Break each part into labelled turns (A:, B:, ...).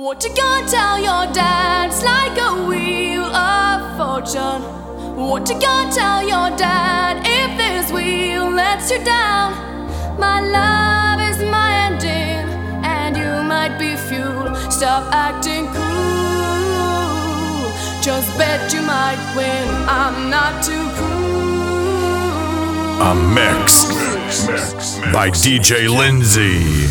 A: What you gonna tell your dad? It's like a wheel of fortune. What you gonna tell your dad if this wheel lets you down? My love is my ending, and you might be fuel. Stop acting cool. Just bet you might win. I'm not too cool.
B: A mix by DJ Lindsay.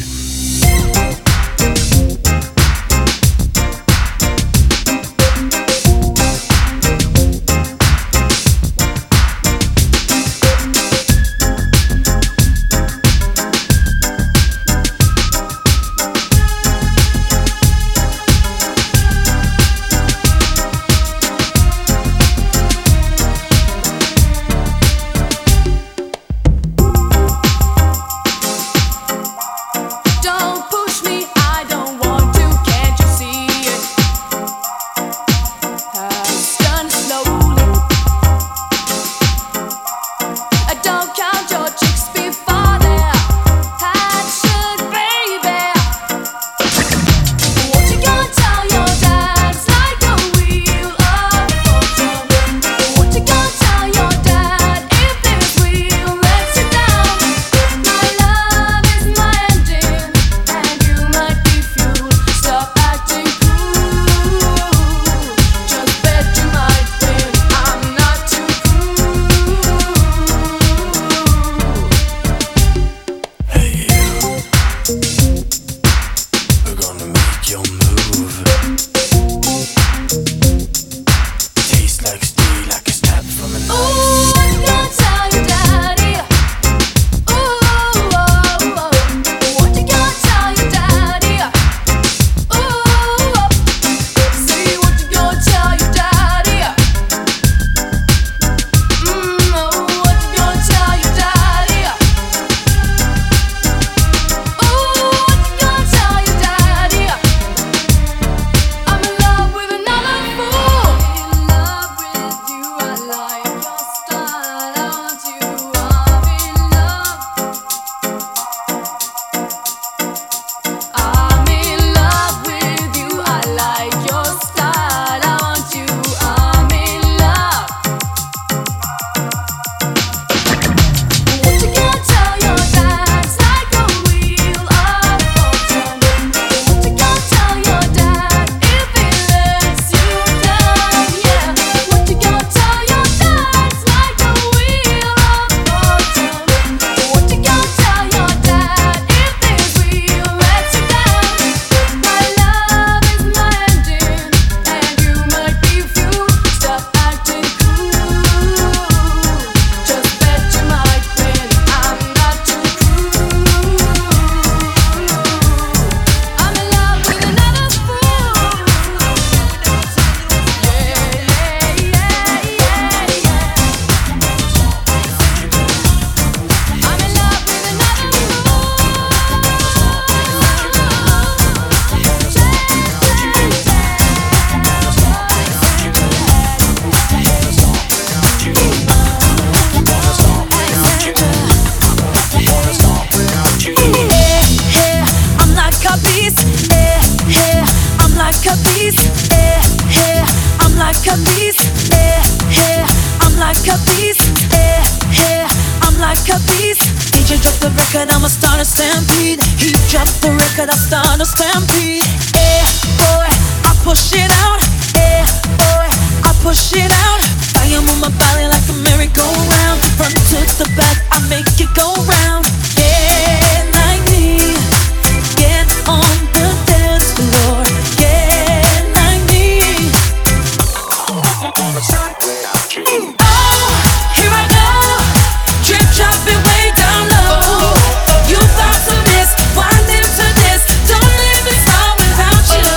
C: You thought to miss, why live to this? Don't live this all without you.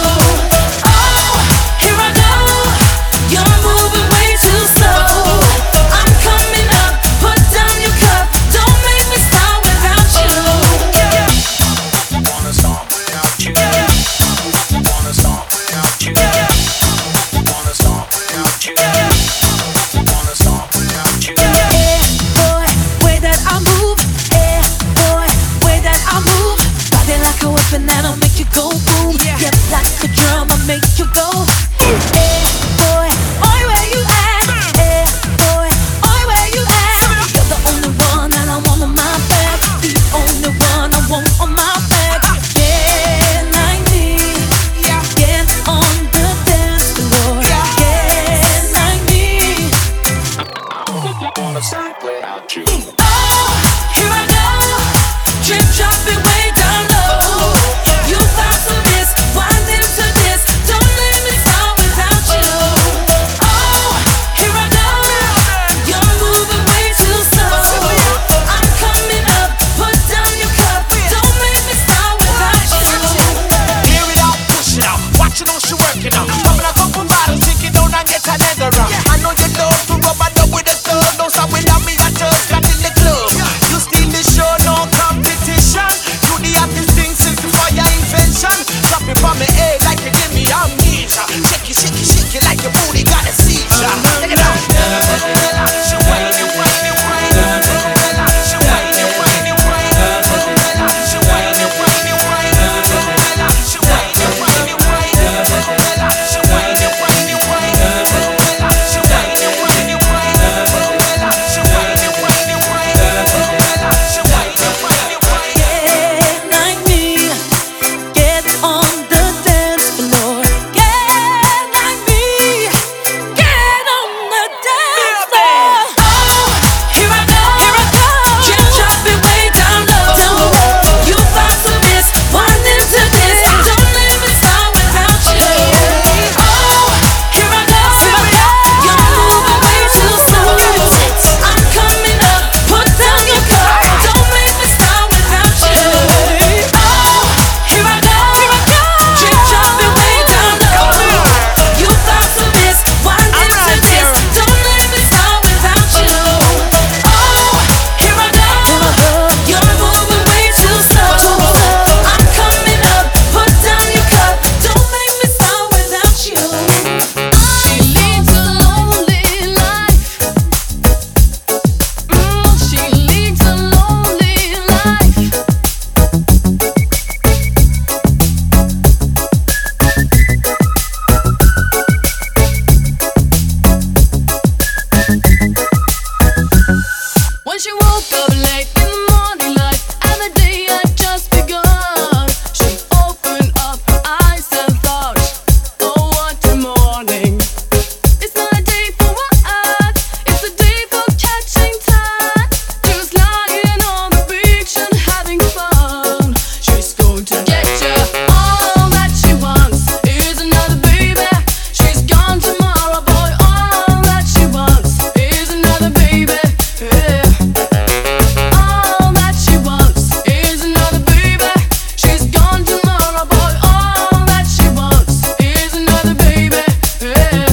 C: seizure. Shake it, shake it, shake it like your booty got a seizure. Take it out. Relax your way, your way, your way. Relax your way, your way, your way. Relax your way, your way, your way. Relax your way, your way, your way. Relax your way, your way, your way. Relax your way, your way, your way. Relax your way, your way, your way. Relax your way, your way, your way.
D: Get like me, get on the dance floor. Get like me, get on the dance floor. Oh, here I go, keep dropping way down low. You thought so miss, wanting to this. Don't let me start without you. Oh, here I go, you're moving way too slow. I'm coming up, put down your cup. Don't make me start without you. Oh, here I go, keep dropping way down low. You thought so miss, wanting to this. Don't let me start without you. Oh, here I go, you're moving way too slow. I'm coming up, put down your cup. Don't make me start without you.
A: She leads a lonely life. She leads a lonely life. When she woke up late in the morning light, and the day had just begun, she opened up her eyes and thought, oh, what a morning. It's not a day for work, it's a day for catching time. Just lying on the beach and having fun. She's going to get ya. All that she wants is another baby. She's gone tomorrow, boy. All that she wants is another baby. Yeah. All that she wants is another baby. She's gone tomorrow, boy. All that she wants is another baby. Yeah.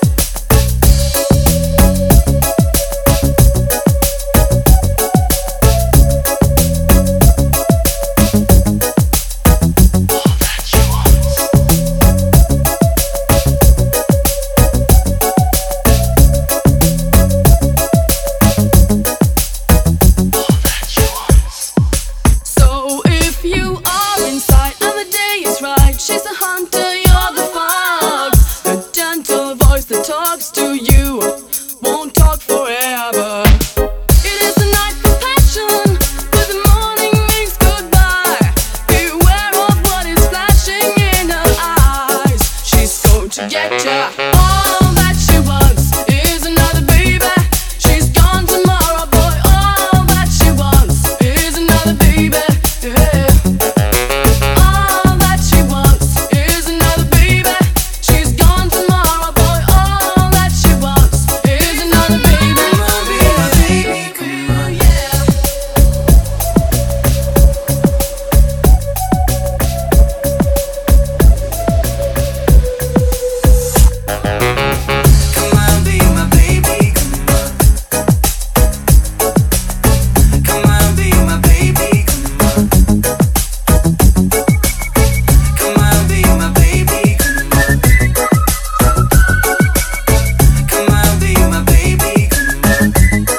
A: So if you are inside and the day is right, she's the hunter, you're the fox. The gentle voice that talks to you won't talk forever. It is the night for passion, but the morning means goodbye. Beware of what is flashing in her eyes. She's going to get ya. All that she wants is another baby. She's gone tomorrow, boy. All that she wants is another baby. Yeah. All that she wants is another baby. She's gone tomorrow, boy. All that she wants is another baby.
C: Come on, be my baby, come on. Come on, be my baby, come on. Come on, be my baby, come on. Come on, be my baby, come on.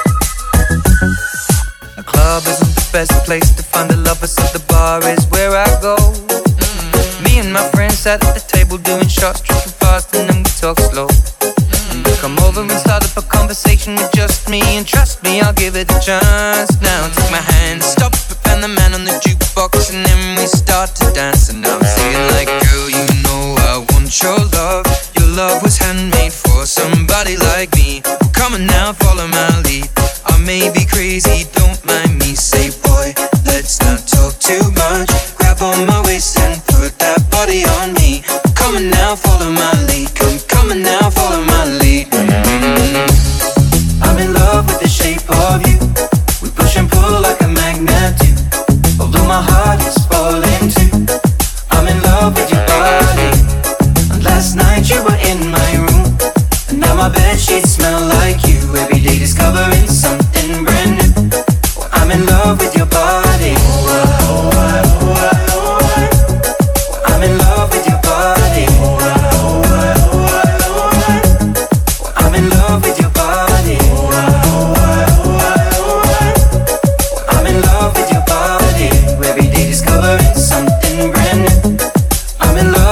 C: A club isn't the best place to find the lovers, so the bar is where I go. Me and my friends sat at the table doing shots, drinking fast, and then we talk slow. Come over and start up a conversation with just me, and trust me, I'll give it a chance. Now take my hand, stop it, and the man on the jukebox, and then we start to dance. And now I'm singing like, girl, you know I want your love. Your love was handmade for somebody like me. Come on now, follow my lead. I may be crazy, don't mind me. Say, boy, let's not talk too much. Grab on my waist and put that body on me. Come on now, follow my lead. Come on now, follow my lead. I'm in love with the shape of you. We push and pull like a magnet do. Although my heart is falling too. I'm in love with your body. And last night you were in my room, and now my bedsheets smell like you. Every day discovering something brand new. Well, I'm in love with your body. Well, I'm in love with your body.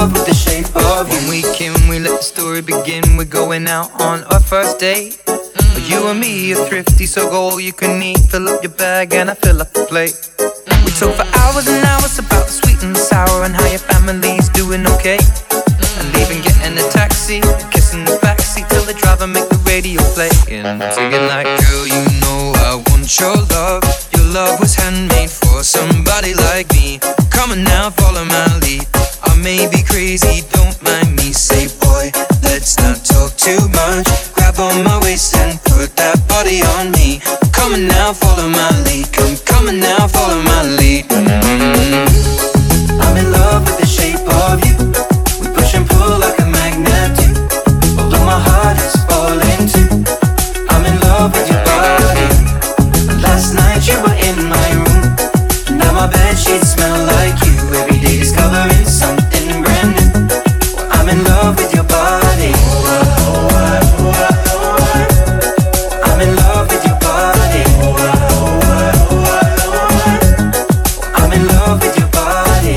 C: love with the shape of you. When we came, we let the story begin. We're going out on our first date. You and me are thrifty, so go all you can eat. Fill up your bag and I fill up the plate. We talk for hours and hours about the sweet and the sour and how your family's doing okay. And leaving, getting a taxi, kissing the backseat till the driver make the radio play. And singing like, girl, you know I want your love. Your love was handmade for somebody like me. Come on now, follow my lead. I may be crazy, don't mind me. Say, boy, let's not talk too much. Grab on my waist and put that body on me. Come on now, follow my lead. Come on now, follow my lead. I'm in love with the shape of you. We push and pull like a magnet do. Although my heart is falling too. I'm in love with your body. Last night you were in my room. Now my bedsheets smell like you. Every day discovering something brand new. I'm in love with your body. I'm in love with your body. I'm in love with your body.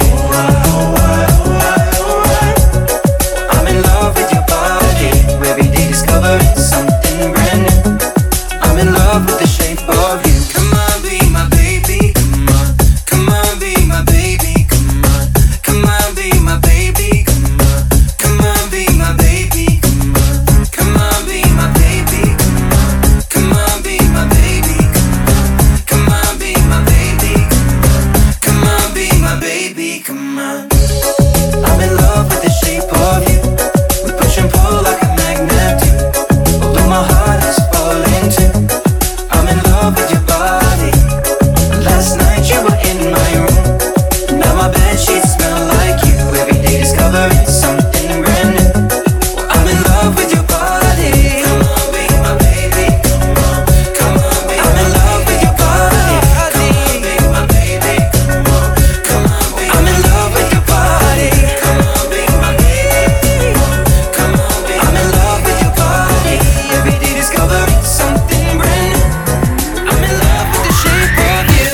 C: I'm in love with your body. Every day discovering something brand new. I'm in love with the shape of you. Come on, be my baby. Come on, come on, be my baby. Come on, come on, be my baby. Come on, come on, be my baby. Come on, come on, be my baby. Come on, be my baby. Come on, be my baby. Come on, be my baby. Come on. I'm in love with the shape of you. We push and pull like a magnet do. Although my heart is falling too. I'm in love with your body. Last night you were in my room. Now my bedsheets smell like you. Every day discovering something brand new. I'm in love with your body. Come on, be my baby. Come on, come on, be I'm in love with your body. Come on, be my baby. Come on, come on, be I'm in love with your body. Come on, be my baby. Come on, be I'm in love with your body. Every day discovering something brand new. I'm in love with the shape of you.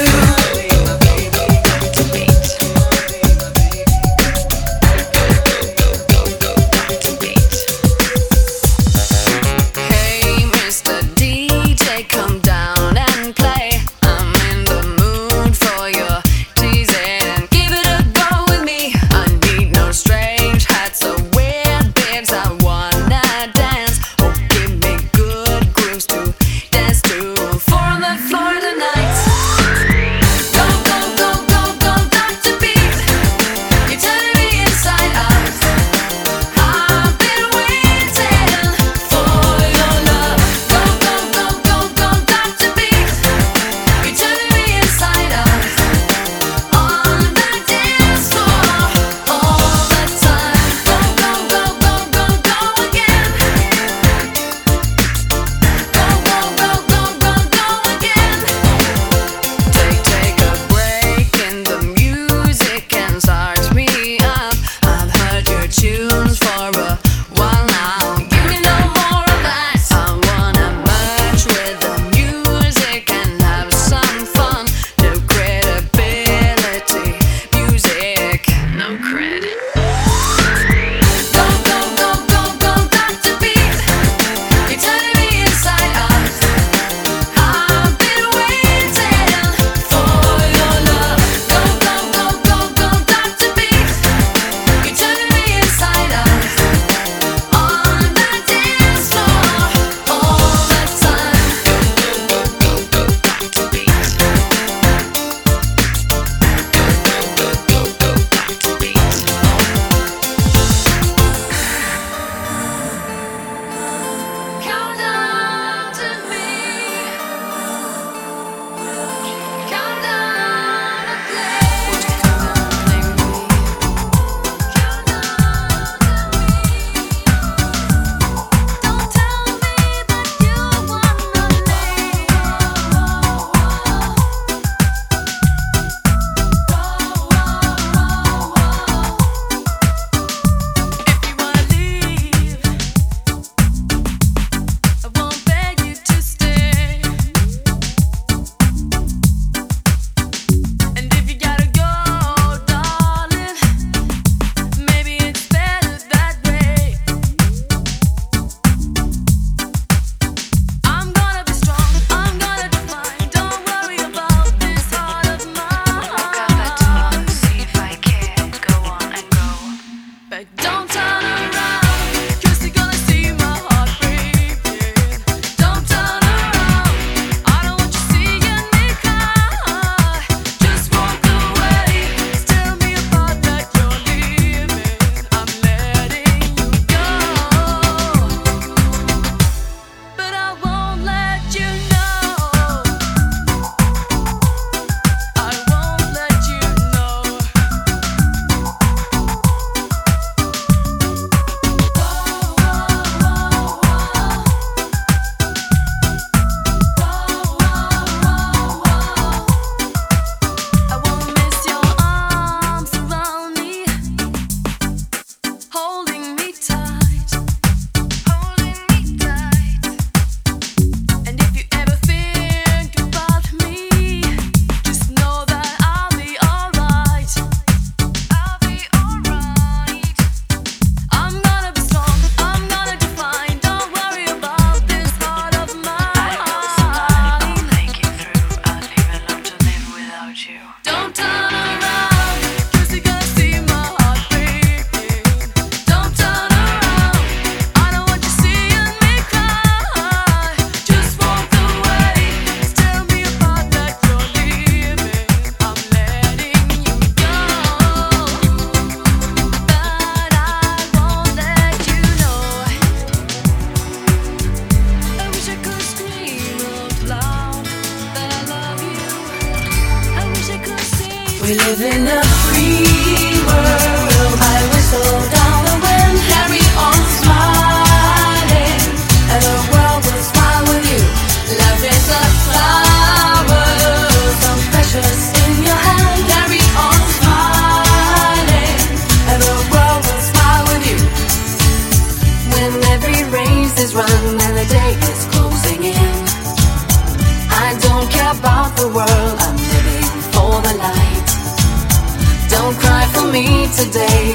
D: We live in a free world. I whistle down the wind, carry on smiling, and the world will smile with you. Love is a flower, so precious in your hand. Carry on smiling, and the world will smile with you. When every race is run and the day is closing in, I don't care about the world. I'm living for the light. Don't cry for me today.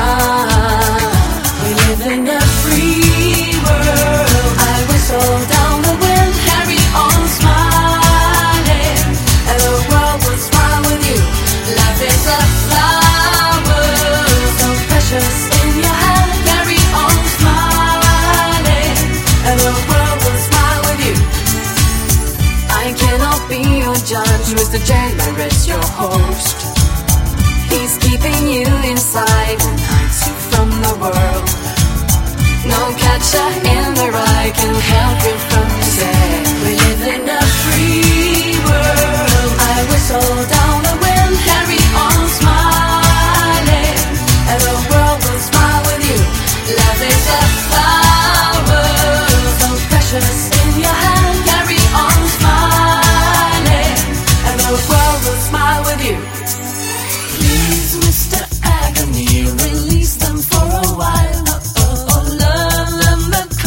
D: We live in a free world. I whistle down the wind, carry on smiling, and the world will smile with you. Life is a flower, so precious in your hand. Carry on smiling, and the world will smile with you. I cannot be your judge, Mr. J, I rest your host. He's keeping you inside and hides you from the world. No catcher in the rye can help you from today. We live in a free world. I whistle down the wind, carry on smiling, and the world will smile with you. Love is a flower, so precious in your hand. Carry on smiling, and the world will smile with you. Please, Mr. Agony, release them for a while. Oh, love them the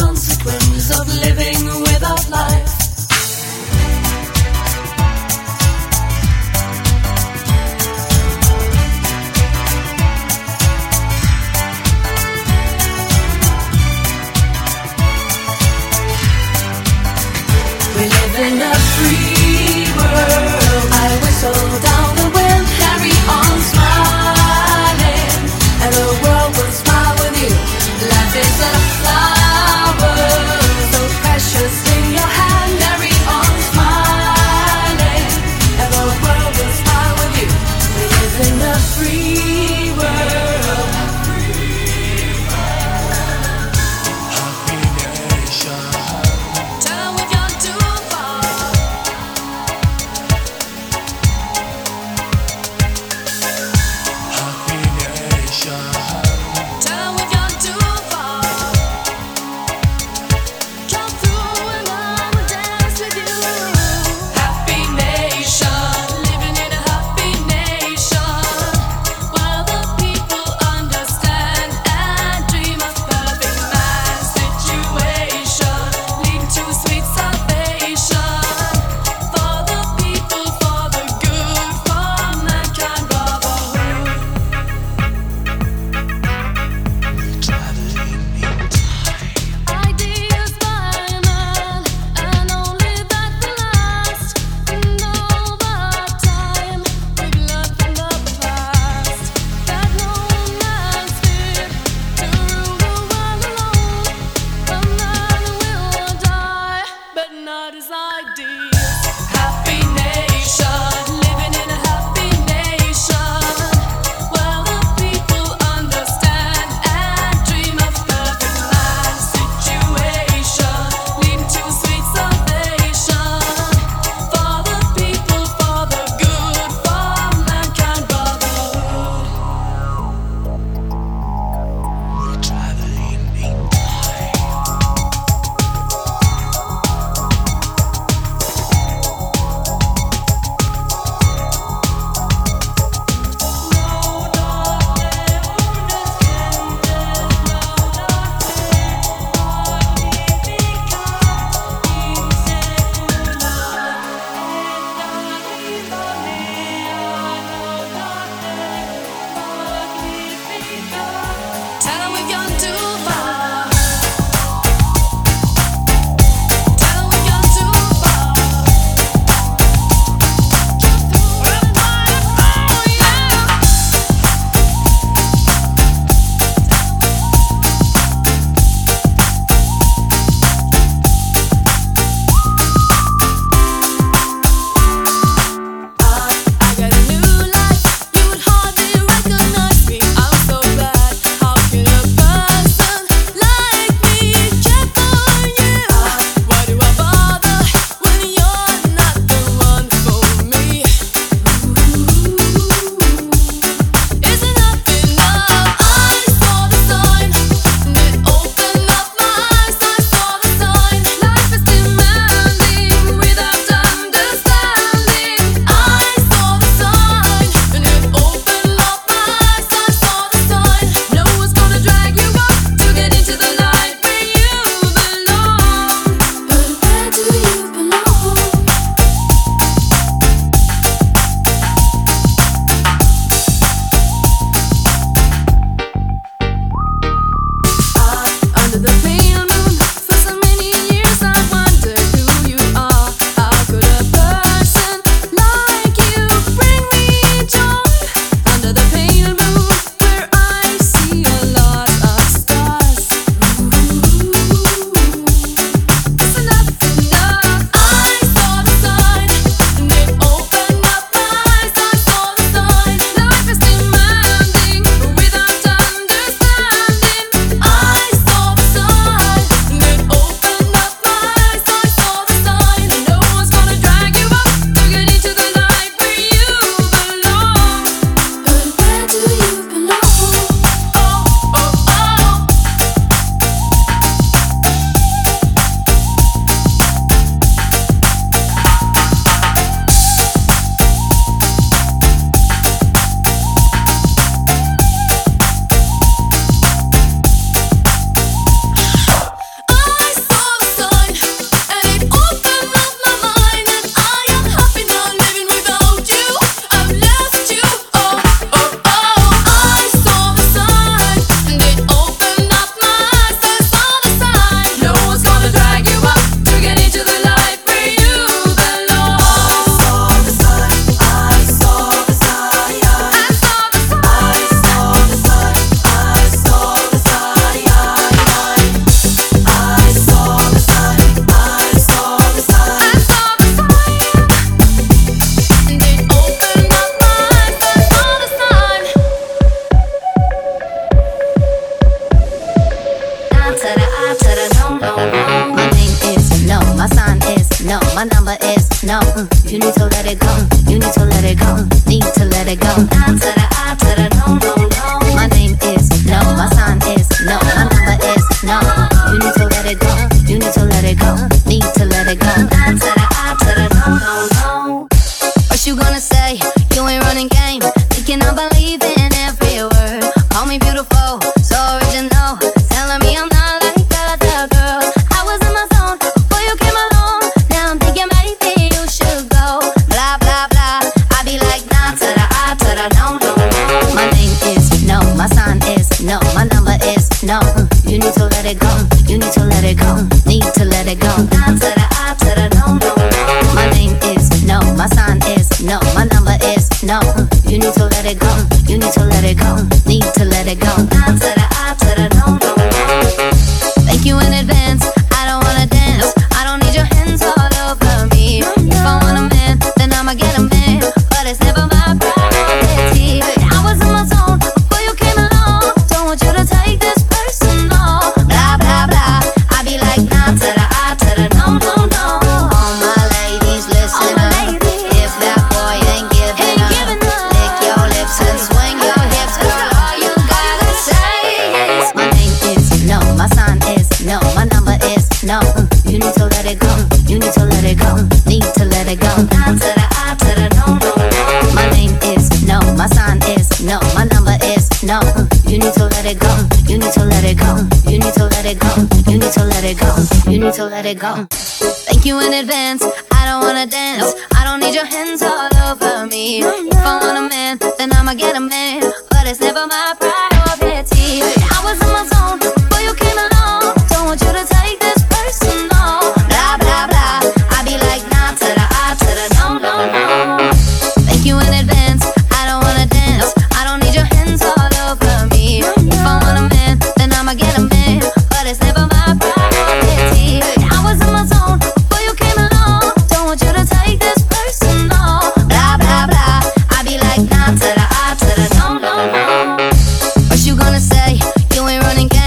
E: my number is no. You need to let it go. You need to let it go. Need to let it go. I to the I to the no, no, no. My name is no. My sign is no. My number is no. You need to let it go. You need to let it go. Need to let it go. I to the I to the no, no, no. What you gonna say? You ain't running game. Thinking I believe in every word. Call me beautiful, so original. Telling me I'm not like other girls. I was in my zone before you came along. Now I'm thinking maybe you should go. Blah blah blah. I be like nah to the I to the no, no, no. My name is no. My sign is no. My number is no. You need to let it go. You need to let it go. Need to let it go. Nah to the I to the no, no, no. My name is no. My sign is no. My number is no. You need to let it go. You need to let it go. Need to let it go. Nah to the I to the no, no, no. Thank you in advance. I don't wanna dance. I don't need your hands all over me. If I want a man, then I'ma get a man. But it's never my priority. I was in my zone before you came along. Don't want you to take this personal. Blah blah blah. I be like nah to the I to the no, no, no. All my ladies listen up. If that boy ain't giving up, lick your lips and swing your hips, girl. All you gotta say is my name is no. My sign is no. My number is no. You need to let it go. You need to let it go. Need to let it go. Nah to the I to the no, no, no. My name is no. My sign is no. My number is no. You need to let it go. You need to let it go. You need to let it go. You need to let it go. You need to let it go. Thank you in advance. I don't wanna dance. I don't need your hands all over me. If I want a man, then I'ma get a man. But it's never my priority. I was in my zone before you came along. Don't want you to take this personal. Blah blah blah. I be like nah to the I to the no, no, no. Thank you in advance. I don't wanna dance. I don't need your hands all over me. If I want a man, then I'ma get a man. But it's never my priority. I was in my zone before you came along. Don't want you to take this personal. Blah blah blah. I be like nah to the I to the no, no, no. What you gonna say? You ain't running game.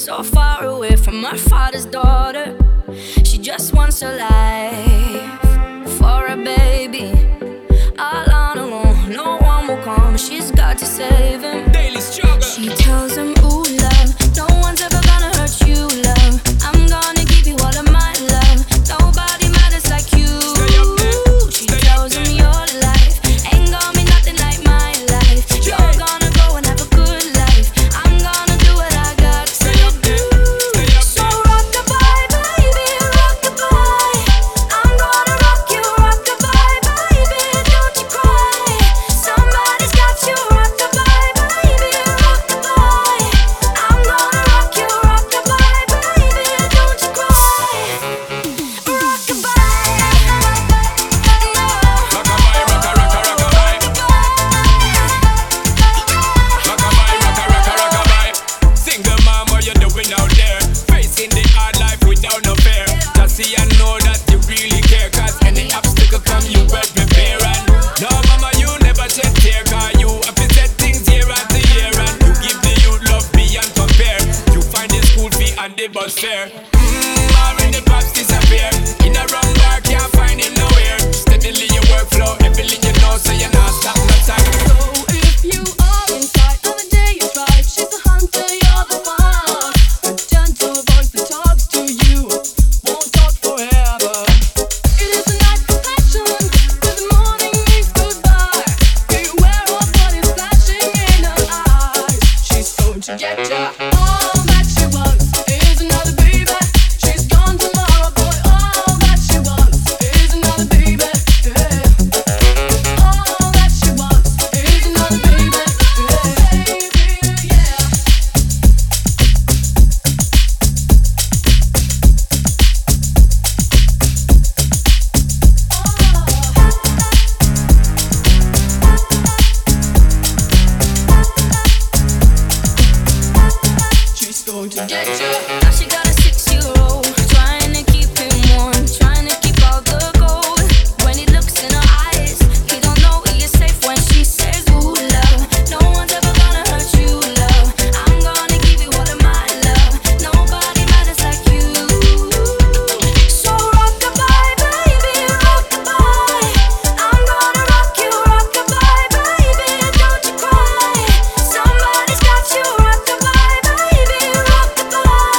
A: so far away from her father's daughter. She just wants a life for a baby. All on her own, no one will come. She's got to save him.
F: Daily struggle.
A: She tells him, ooh, love, no one's ever gonna hurt you, love. I'm gonna give you all of my love. Nobody matters like you.
F: Stay up there.
A: She tells him your life ain't gonna be nothing like my life. You're gonna go and have a good life. I'm gonna do what I got to do. So rock-a-bye, baby, rock-a-bye. I'm gonna rock you, rock-a-bye, baby, don't you cry. Somebody's got you, rock-a-bye, baby, rock-a-bye. I'm gonna rock you, rock-a-bye, baby, don't you cry. Rock-a-bye,
F: Rock-a-bye, rock-a-rock-a-rock-a-bye. Rock-a-bye, rock-a-rock-a-rock-a-bye. Single mom, what you doing out there? Facing the hard life without no fear. Just see and know that you really care. Cause any obstacle come, you well prepare. And no, mama, you never shed tear. Cause you have to set things year after year. And you give the youth love beyond compare. You find the school fee and the bus fare. Or in the pops disappear. In a wrong bar, can't find him nowhere. Steadily your workflow, everything you know, so you're not stop no time.
A: so if you are inside on the day you try, she's the hunter, you're the one. A gentle voice that talks to you won't talk forever. It is a night for passion, till the morning means goodbye. Beware of what is flashing in her eyes. She's going to get ya. All that she wants is another baby. She's gone tomorrow, boy. All that she wants is another baby. Yeah. All that she wants is another baby. Yeah. She's going to get you. Now she got a 6-year-old, trying to keep him warm, trying to keep all the gold. When he looks in her eyes, he don't know he is safe when she says, ooh, love, no one's ever gonna hurt you, love. I'm gonna give you all of my love. Nobody matters like you. So rock-a-bye, baby, rock-a-bye. I'm gonna rock you, rock-a-bye, baby, don't you cry. Somebody's got you, rock-a-bye, baby, rock-a-bye.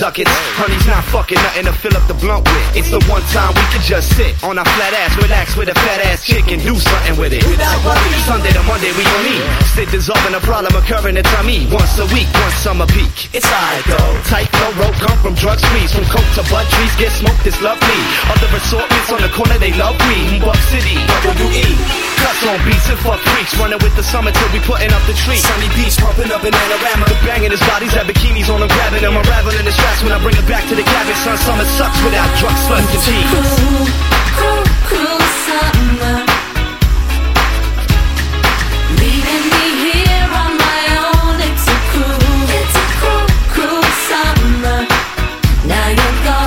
G: ducats. Honey's not fucking nothing to fill up the blunt with. It's the one time we can just sit on our flat ass, relax with a fat ass chick and do something with it. Sunday to Monday we don't eat. Sit dissolving a problem occurring at time E. Once a week, one summer peak. It's alright though. Tight no rope come from drug sprees. From coke to bud trees, get smoked, this love me. Other assortments on the corner, they love weed. Buck City, WE. Cuts on beats and fuck freaks. Running with the summer till we putting up the tree. Sunny beach, pumping up in Panorama. The banging his bodies, have bikinis on them, grabbing them. Unraveling the straps when I bring it back to the cabin. Son, summer sucks without drugs, sluts, and cheese.
A: Cruel, cruel summer. Leaving me here on my own. It's a cruel, cruel summer. Now you're gone.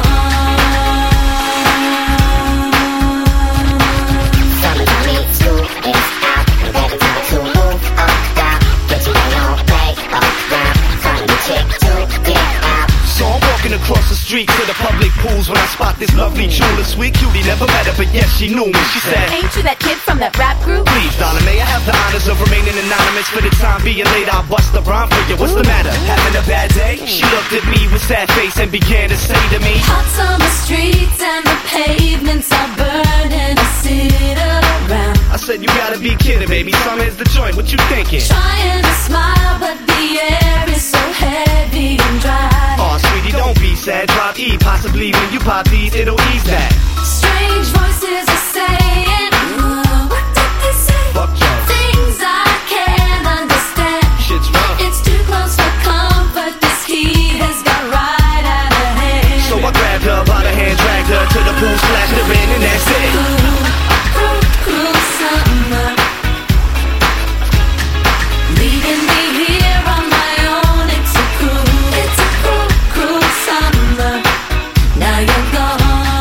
E: Summertime in school is out. And better time to move on down. Get your way on, play around. Find a new chick to get out.
G: So I'm walking across the street to the public pools when I spot this lovely jeweler, sweet cutie. Never met her, but yes, she knew me. She said,
A: Ain't you that kid from that rap group?
G: please, Donna, may I have the honors of remaining anonymous for the time being late? I'll bust the rhyme for you. What's the matter? Having a bad day? She looked at me with sad face and began to say to me,
A: Hot summer streets and the pavements are burning. I sit around
G: I said, you gotta be kidding, baby. Summer's the joint. What you thinking?
A: trying to smile, but the air is so heavy and dry.
G: Aw, sweetie, don't be sad. Drop E. Possibly when you pop these, it'll ease that.
A: Strange voices are saying, what did they say?
G: Fuck drugs.
A: Things I can't understand.
G: Shit's rough.
A: It's too close for comfort. This heat has got right out of hand.
G: So I grabbed her by the hand, dragged her to the pool, splashed her in, and that's it.
A: Cruel, cruel summer. Leaving me here on my own. It's a cruel summer. Now you're gone.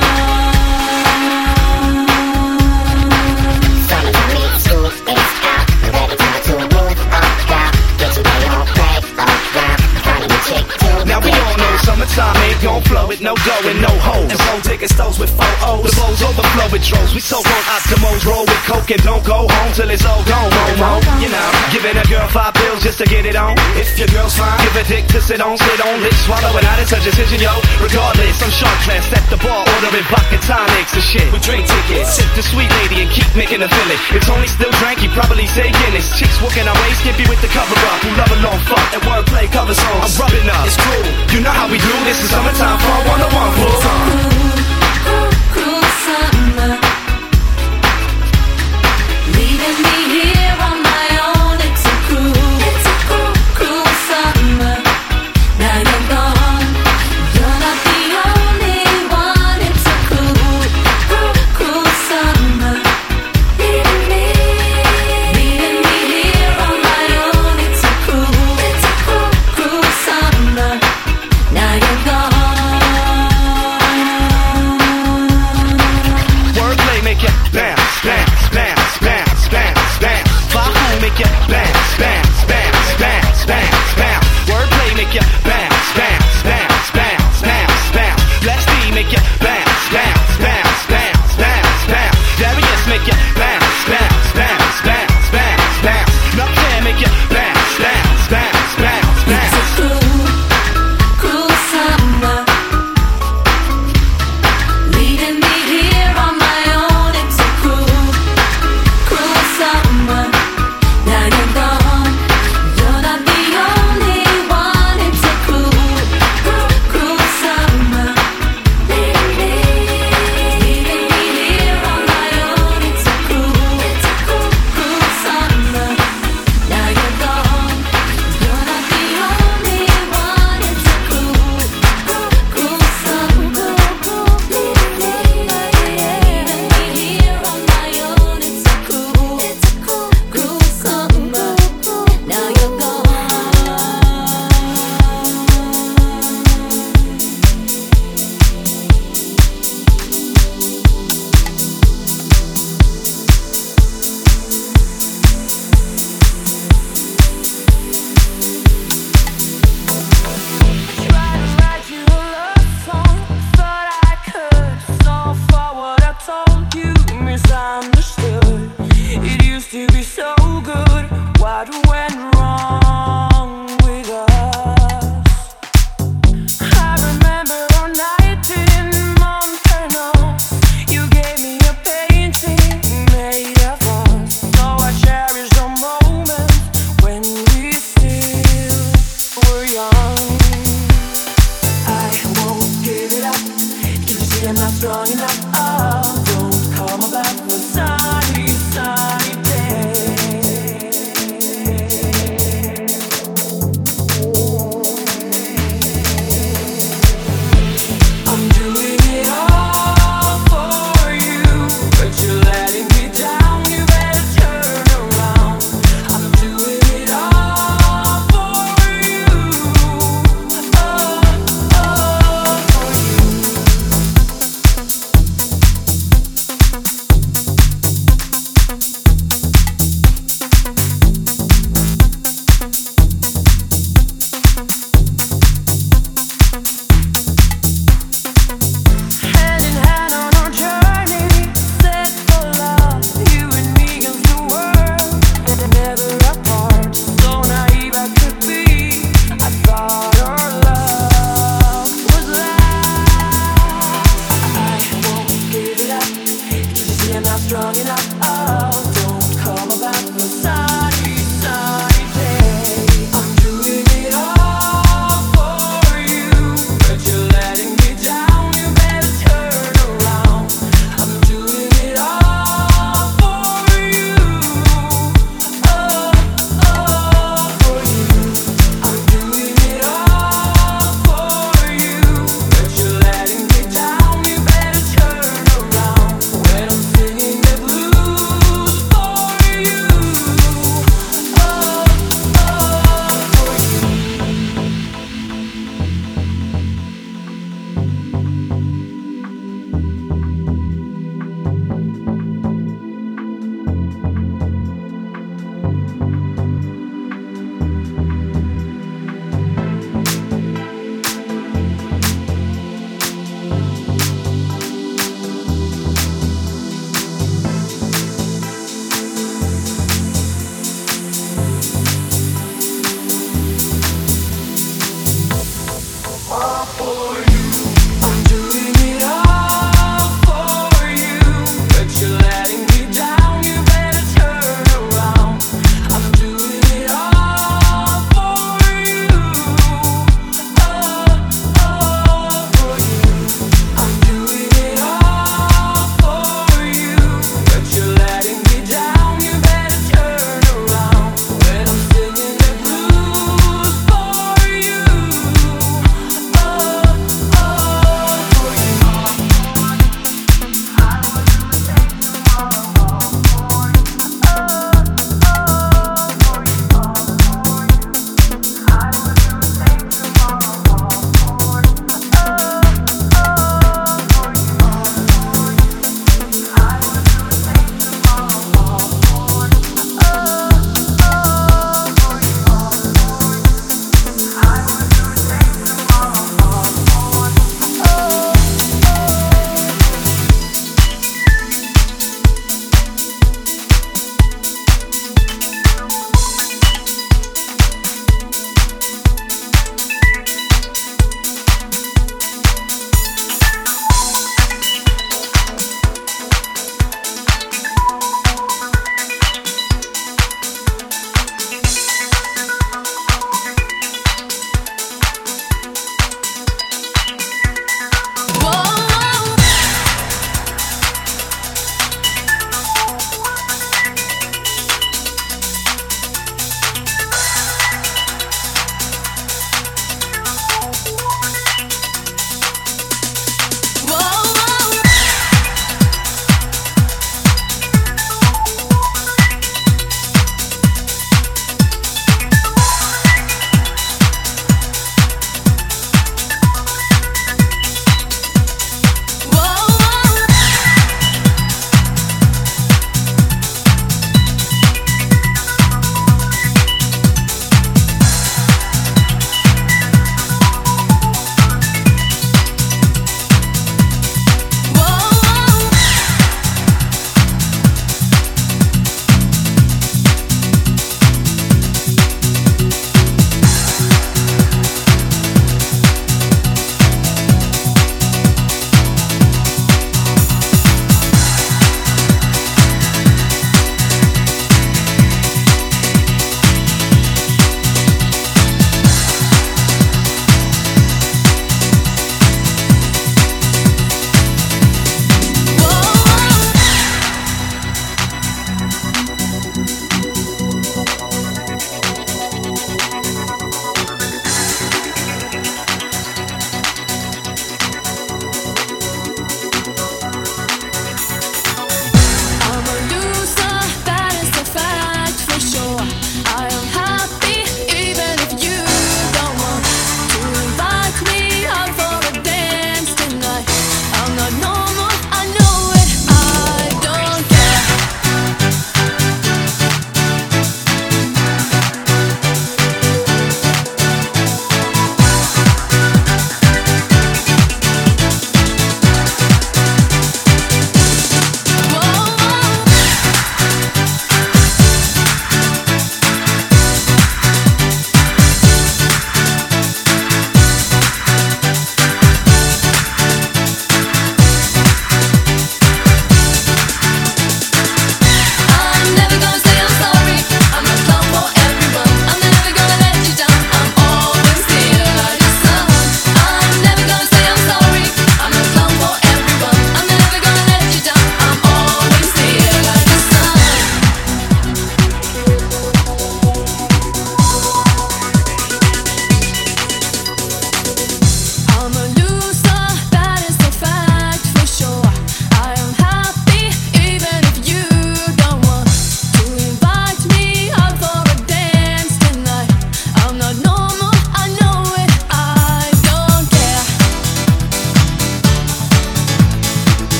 E: Summertime in school is out. And better time to move on down. Get your way on, play around. Find a new chick to
G: Now we all know summertime ain't gon' flow with no dough and no hoes. And phone ticket stoves with 4 O's. The bowls overflow with droves. We so on Optimos, roll with coke and don't go home till it's all gone. Momo, you know, giving a girl 5 bills just to get it on. If your girl's fine, give a dick to sit on, lips swallow it out. It's a decision, yo. Regardless, I'm sharp class, set the bar, ordering vodka tonics and shit. With drink tickets, sip the sweet lady and keep making a feeling. It's only still drank, you probably say Guinness. Chicks walking our way, skimpy with the cover up. Who love a long fuck and wordplay cover songs. I'm rubbing up, it's cool. You know how we do. This is summertime for 101 full time.
A: Cruel summer. Leaving me here on my own. It's a cruel summer. Now you're gone. You're not the only one. It's a cruel summer. Leaving me here on my own. It's a cruel summer. Now you're gone.
G: Wordplay make you bounce, bounce, bounce, bounce, bounce, bounce. Fahoo make you bounce, bounce, bounce, bounce, bounce, bounce. Wordplay make you bounce, bounce, bounce, bounce, bounce, bounce. Let's D make you bounce, bounce, bounce, bounce, bounce, bounce. Darius make you bounce, bounce, bounce, bounce, bounce, bounce. Nutcare make you bounce, bounce, bounce, bounce, bounce.
A: It's a cruel summer. Leaving me here on my own. It's a cruel summer. Now you're gone. You're not the only one. It's a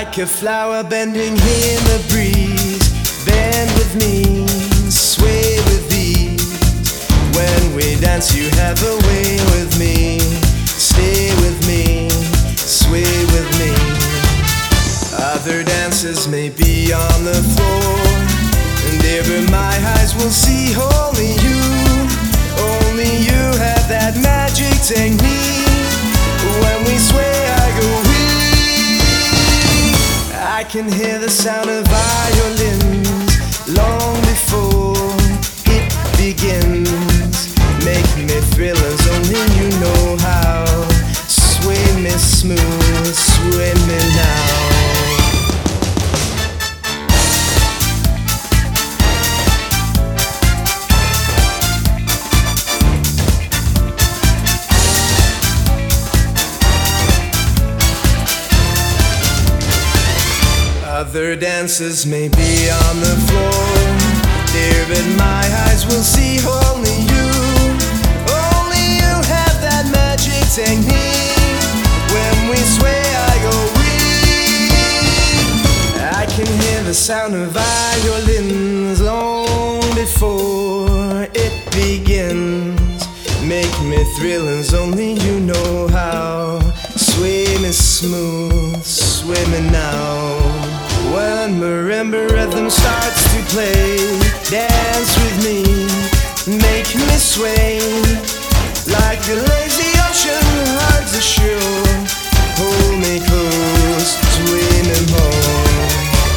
H: Like a flower bending in the breeze, bend with me, sway with ease. When we dance you have a way with me, stay with me, sway with me. Other dancers may be on the floor, and ever my eyes will see only you. Only you have that magic technique. When we sway I go weak. I can hear the sound of violins long before it begins. Make me thrillers, only you know how. Sway me smooth, sway me now. Other dancers may be on the floor, dear, but my eyes will see only you. Only you have that magic technique. When we sway I go weak. I can hear the sound of violins long before it begins. Make me thrillers, only you know how. Sway me smooth, sway me now. When marimba rhythm starts to play, dance with me, make me sway. Like a lazy ocean hugs the shore, hold me close, sway me more.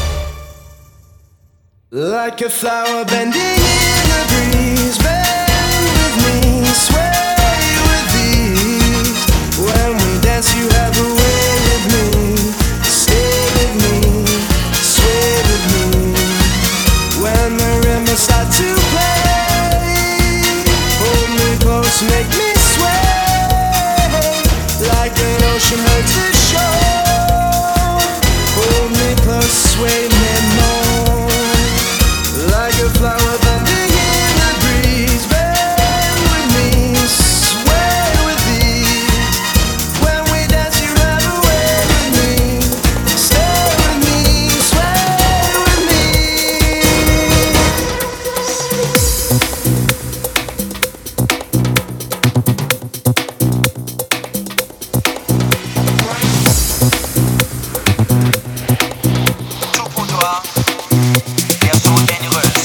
H: Like a flower bending in the breeze, bend with me, sway with ease. When we dance you have a way with me, stay with me, sway with me. When the rimmers start to play, hold me close, make me sway. Like an ocean hugs the shore, hold me close, sway me more. Like a flower bending in the breeze, bend with me, sway with ease. When we dance you have a way with me, stay with me, sway with me.
C: Tout pour toi, version généreuse.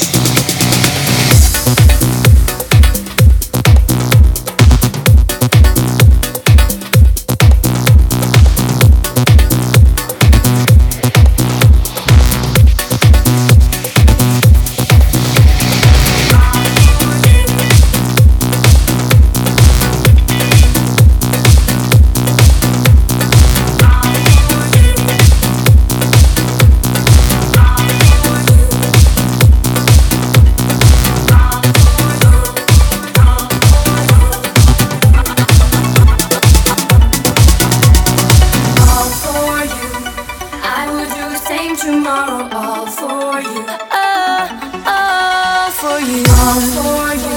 A: All for you. I would do the same tomorrow. All for you. All for you. All for you.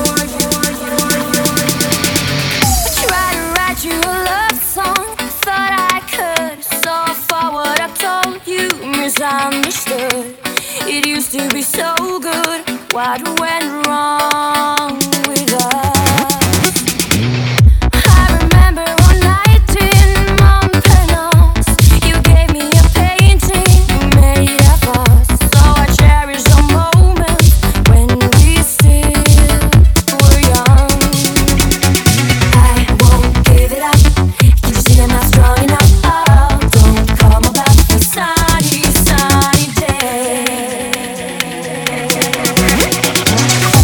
A: Try to write you a love song. Thought I could. So far what I told you misunderstood. It used to be so good. What went wrong with us? I remember one night in Montparnasse. You gave me a painting made of us. So I cherish the moments when we still were young. I won't give it up. Can't you see I'm not strong enough? Oh, don't come about a sunny, sunny day.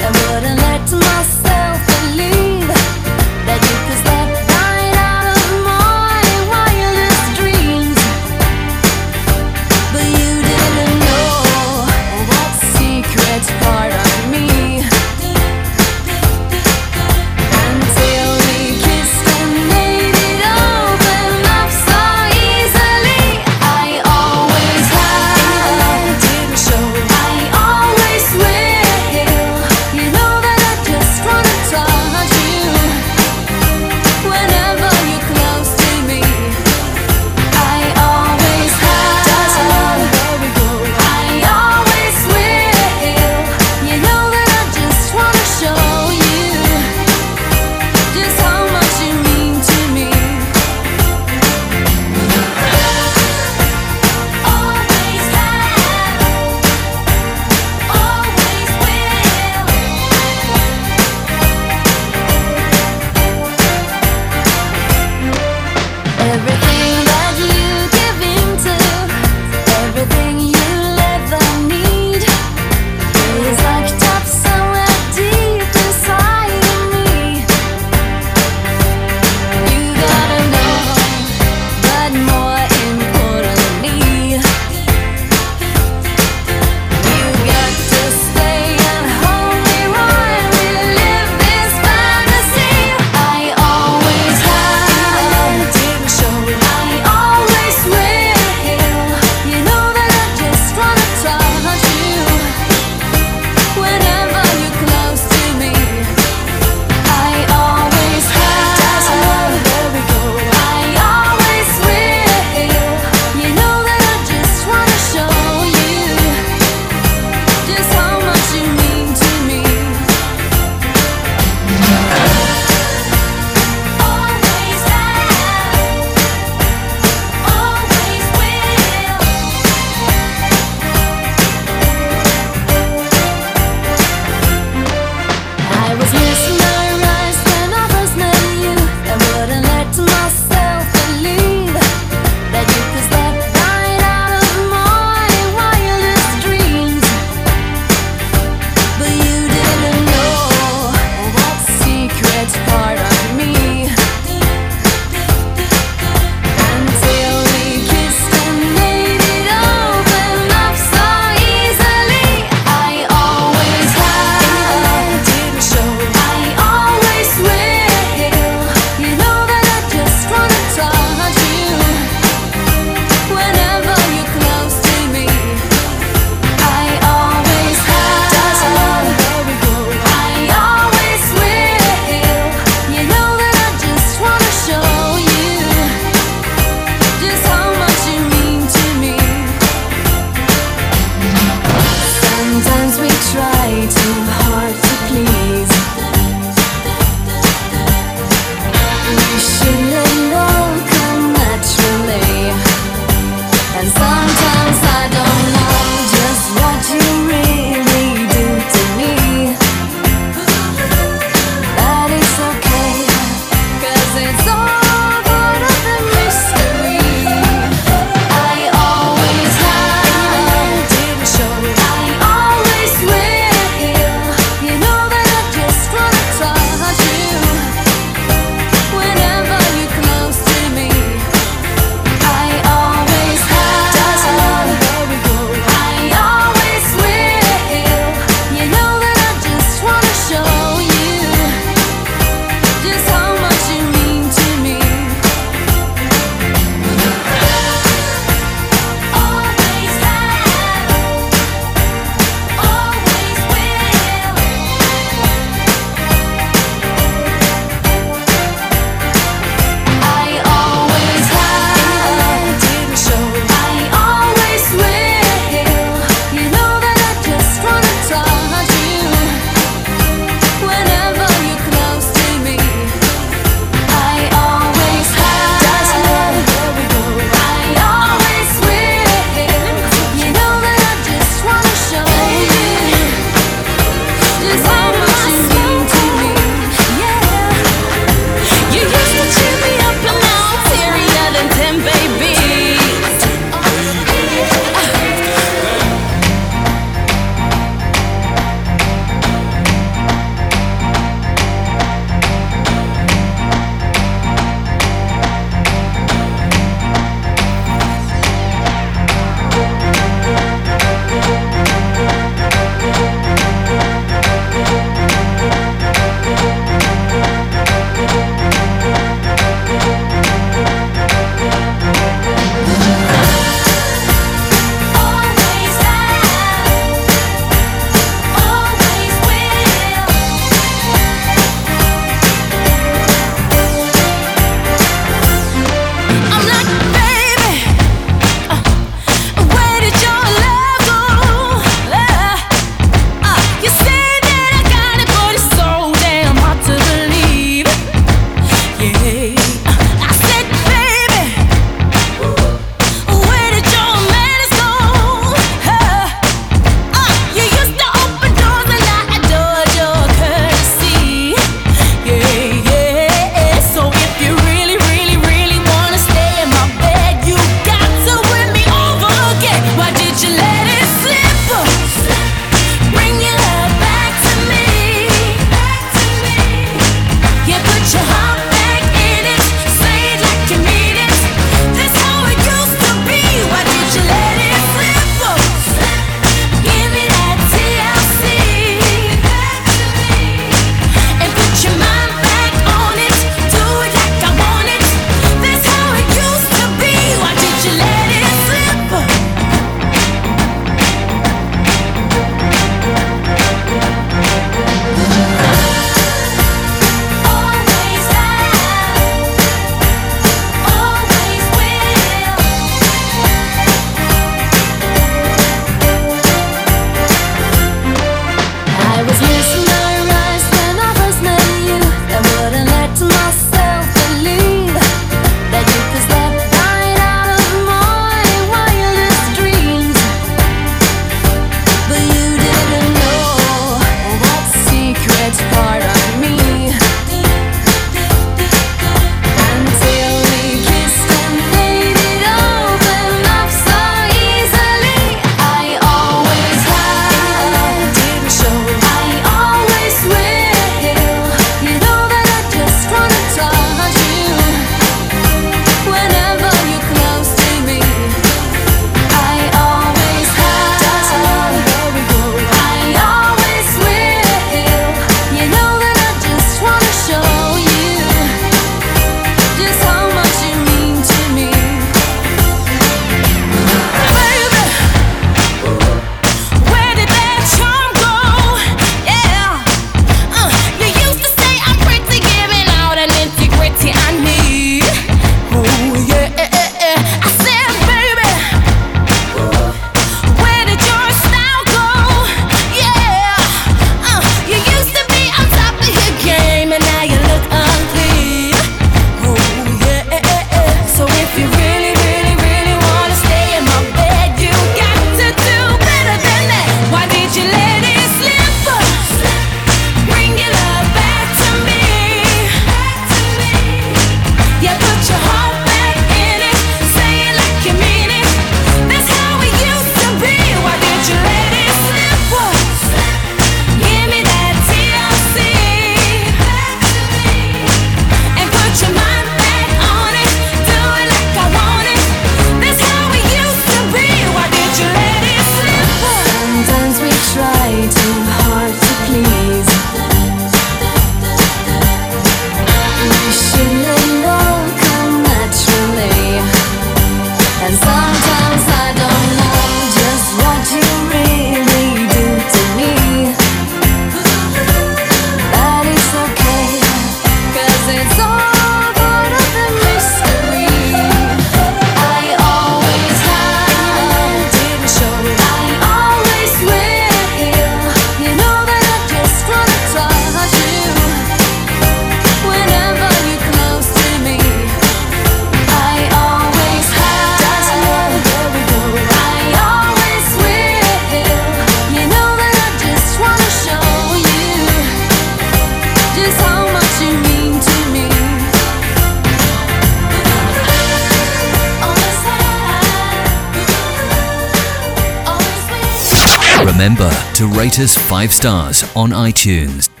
I: Remember to rate us 5 stars on iTunes.